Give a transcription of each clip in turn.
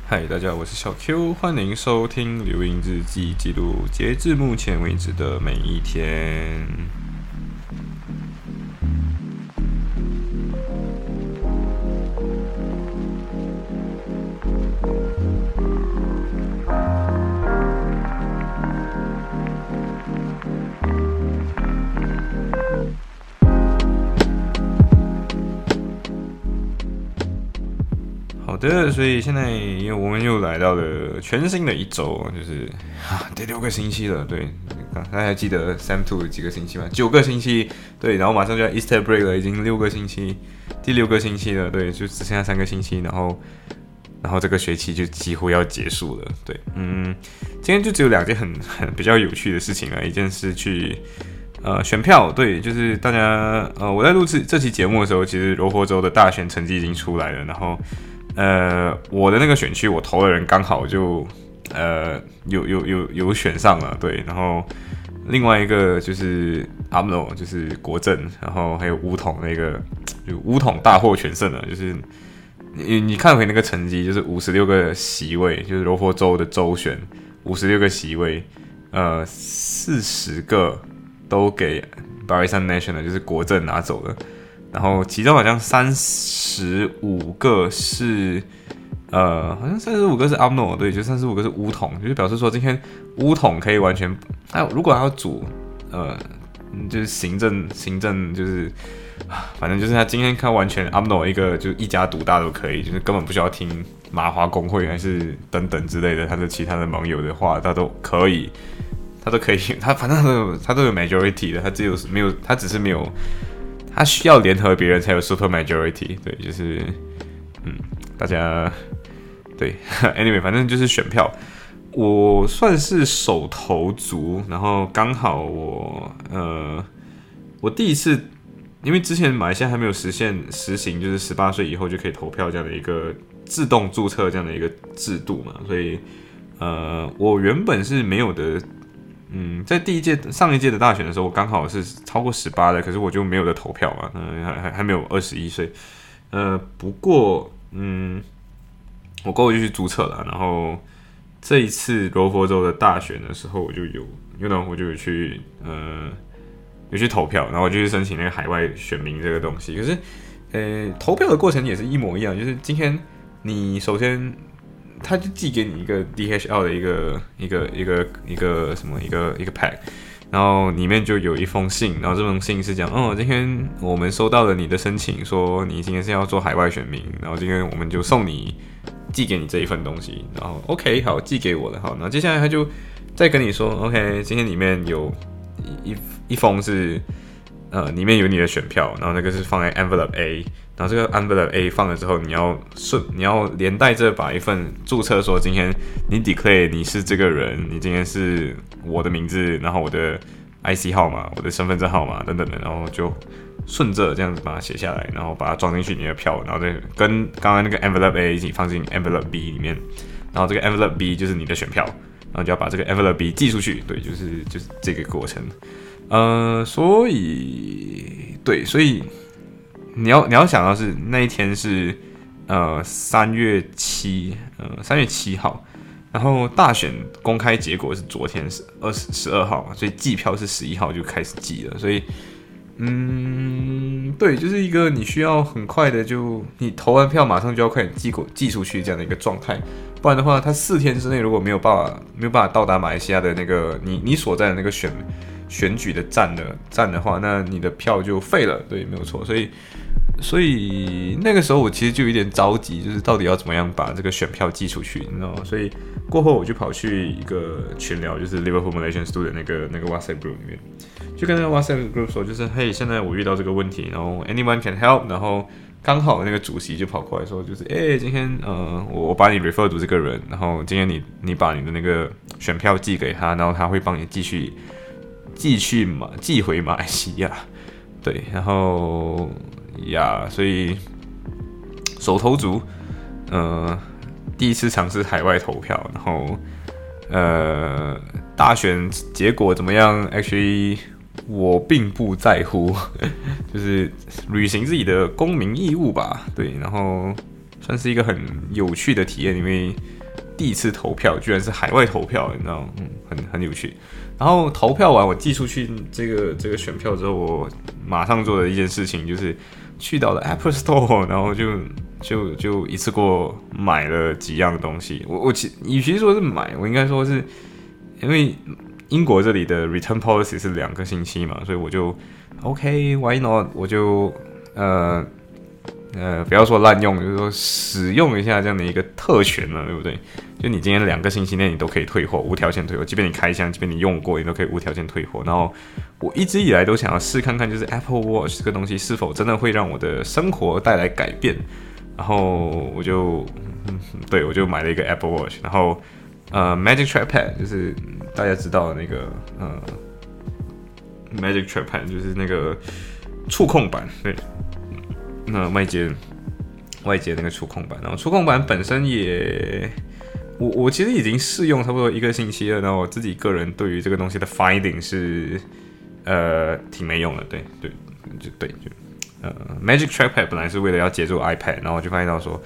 嗨，大家好，我是小 Q，欢迎收听流音日记，记录截至目前为止的每一天。好的，所以现在我们又来到了全新的一周，就是第6个星期了。对，大家还记得 Sam2 几个星期吗？9个星期。对，然后马上就要 Easter break 了，已经6个星期，第6个星期了。对，就只剩下3个星期，然后这个学期就几乎要结束了。对，今天就只有2件很比较有趣的事情了，一件是去选票。对，就是大家我在录制这期节目的时候，其实柔佛州的大选成绩已经出来了，然后我的那个选区我投的人刚好就有选上了。对，然后另外一个就是阿姆诺，就是国政，然后还有巫统那个，就巫统大获全胜了，就是你看回那个成绩，就是56个席位，就是柔佛州的州选56个席位，40个都给 Barisan National 就是国政拿走了。然后其中好像35个是好像35个是 Amno， 对，就35个是巫统，就是表示说今天巫统可以完全，如果他要组就是行政就是反正就是他今天看完全 Amno 一个就一家独大都可以，就是根本不需要听麻花工会还是等等之类的他的其他的盟友的话，他都可以，他反正他都有 majority 的，他只是没有。他需要联合别人才有 super majority， 对，就是大家对，anyway， 反正就是选票，我算是首投族，然后刚好我第一次，因为之前马来西亚还没有实行就是18岁以后就可以投票这样的一个自动注册这样的一个制度嘛，所以我原本是没有的。在上一届的大选的时候，我刚好是超过18的，可是我就没有的投票嘛，还没有21岁，不过我过后就去注册了，然后这一次柔佛州的大选的时候，我就有去投票，然后我就去申请那个海外选民这个东西，可是投票的过程也是一模一样，就是今天你首先。他就寄给你一个 DHL 的一个什么一个 pack， 然后里面就有一封信，然后这封信是讲，今天我们收到了你的申请，说你今天是要做海外选民，然后今天我们就寄给你这一份东西，然后 OK 好寄给我了，好，然后接下来他就再跟你说 OK， 今天里面有一封是里面有你的选票，然后那个是放在 envelope A。然后这个 envelope A 放了之后，你要连带着把一份注册说今天你 declare 你是这个人，你今天是我的名字，然后我的 IC 号码、我的身份证号码等等的，然后就顺着这样子把它写下来，然后把它装进去你的票，然后再跟刚刚那个 envelope A 一起放进 envelope B 里面，然后这个 envelope B 就是你的选票，然后就要把这个 envelope B 寄出去，对，就是这个过程，所以。你要想到是那一天是3月7号，然后大选公开结果是昨天是12号嘛，所以计票是11号就开始计了，所以对，就是一个你需要很快的你投完票马上就要快点寄出去这样的一个状态，不然的话，它4天之内如果没有办法到达马来西亚的那个你所在的那个选举的站的话，那你的票就废了，对，没有错，所以那个时候我其实就有点着急，就是到底要怎么样把这个选票寄出去，你知道吗？所以过后我就跑去一个群聊，就是 Liverpool Malaysian Student 那个 WhatsApp group 里面，就跟那个 WhatsApp group 说，就是嘿，现在我遇到这个问题，然后 anyone can help， 然后刚好那个主席就跑过来说，就是今天我把你 refer to 这个人，然后今天你把你的那个选票寄给他，然后他会帮你寄回马来西亚，对，然后。所以首投族，第一次尝试海外投票，然后大选结果怎么样 ？Actually， 我并不在乎，就是履行自己的公民义务吧。对，然后算是一个很有趣的体验，因为第一次投票居然是海外投票，你知道，很有趣。然后投票完，我寄出去这个选票之后，我马上做的一件事情就是去到了 Apple Store， 然后就一次过买了几样东西。与其说是买，我应该说是因为英国这里的 return policy 是2个星期嘛，所以我就 OK，why not？ 我就不要说滥用，就是说使用一下这样的一个特权了，对不对？就你今天2个星期内你都可以退货，无条件退货，即便你开箱，即便你用过，你都可以无条件退货。然后我一直以来都想要试看看，就是 Apple Watch 这个东西是否真的会让我的生活带来改变。然后我就买了一个 Apple Watch， 然后Magic Trackpad 就是大家知道的那个Magic Trackpad 就是那个触控板，对。那外接那个触控板，然后触控板本身也，我其实已经试用差不多1个星期了，然后我自己个人对于这个东西的 finding 是挺没用的，对，Magic Trackpad 本来是为了要接住 iPad， 然后我就发现到说，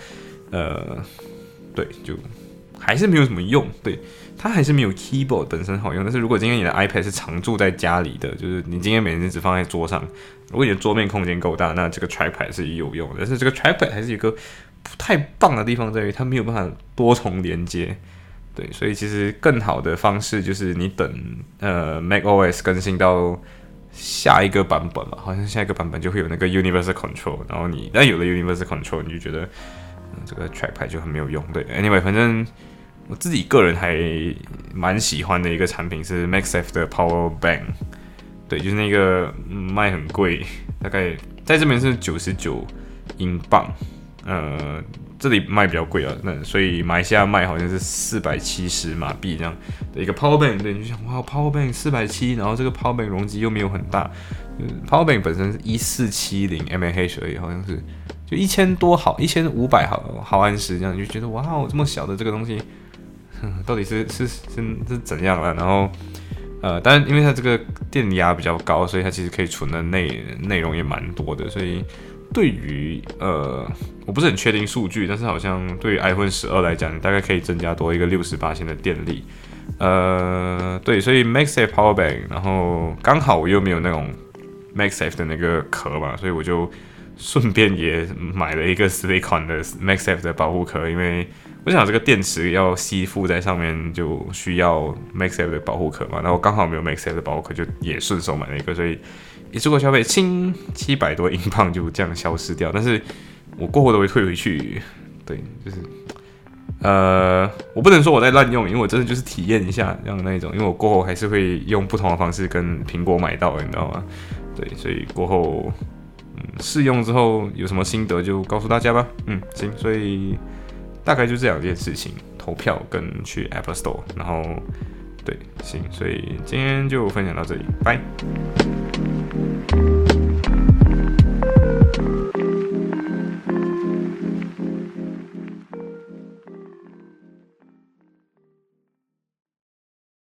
就还是没有什么用，对，它还是没有 keyboard 本身好用。但是如果今天你的 iPad 是常驻在家里的，就是你今天每天只放在桌上，如果你的桌面空间够大，那这个 trackpad 是有用的。但是这个 trackpad 还是有一个不太棒的地方在于，它没有办法多重连接。对，所以其实更好的方式就是你等macOS 更新到下一个版本嘛，好像下一个版本就会有那个 Universal Control， 然后你有了 Universal Control， 你就觉得这个 trackpad 就很没有用。对 ，anyway， 反正我自己个人还蛮喜欢的一个产品是 MagSafe 的 Power Bank， 对，就是那个卖很贵，大概在这边是99英镑，这里卖比较贵啊，那所以马来西亚卖好像是470马币这样的一个 Power Bank， 对，你就想哇 Power Bank 470，然后这个 Power Bank 容积又没有很大，Power Bank 本身是1470 mAh 而已，好像是就1500毫安时这样，你就觉得哇，这么小的这个东西。到底是怎样了？然后当然因为它这个电压比较高，所以它其实可以存的内容也蛮多的。所以对于我不是很确定数据，但是好像对于 iPhone 12来讲，大概可以增加多一个68%的电力。对，所以 MagSafe Power Bank， 然后刚好我又没有那种 MagSafe 的那个壳嘛，所以我就顺便也买了一个 Silicon 的 MagSafe 的保护壳，因为我想这个电池要吸附在上面就需要 MagSafe 的保护壳嘛，然后刚好没有 MagSafe 的保护壳，就也顺手买了一个，所以一次过消费700多英镑就这样消失掉，但是我过后都会退回去，对，就是我不能说我在滥用，因为我真的就是体验一下这样的那一种，因为我过后还是会用不同的方式跟苹果买到的，你知道吗？对，所以过后试用之后有什么心得就告诉大家吧。行，所以大概就这2件事情，投票跟去 Apple Store， 然后对，行，所以今天就分享到这里，拜。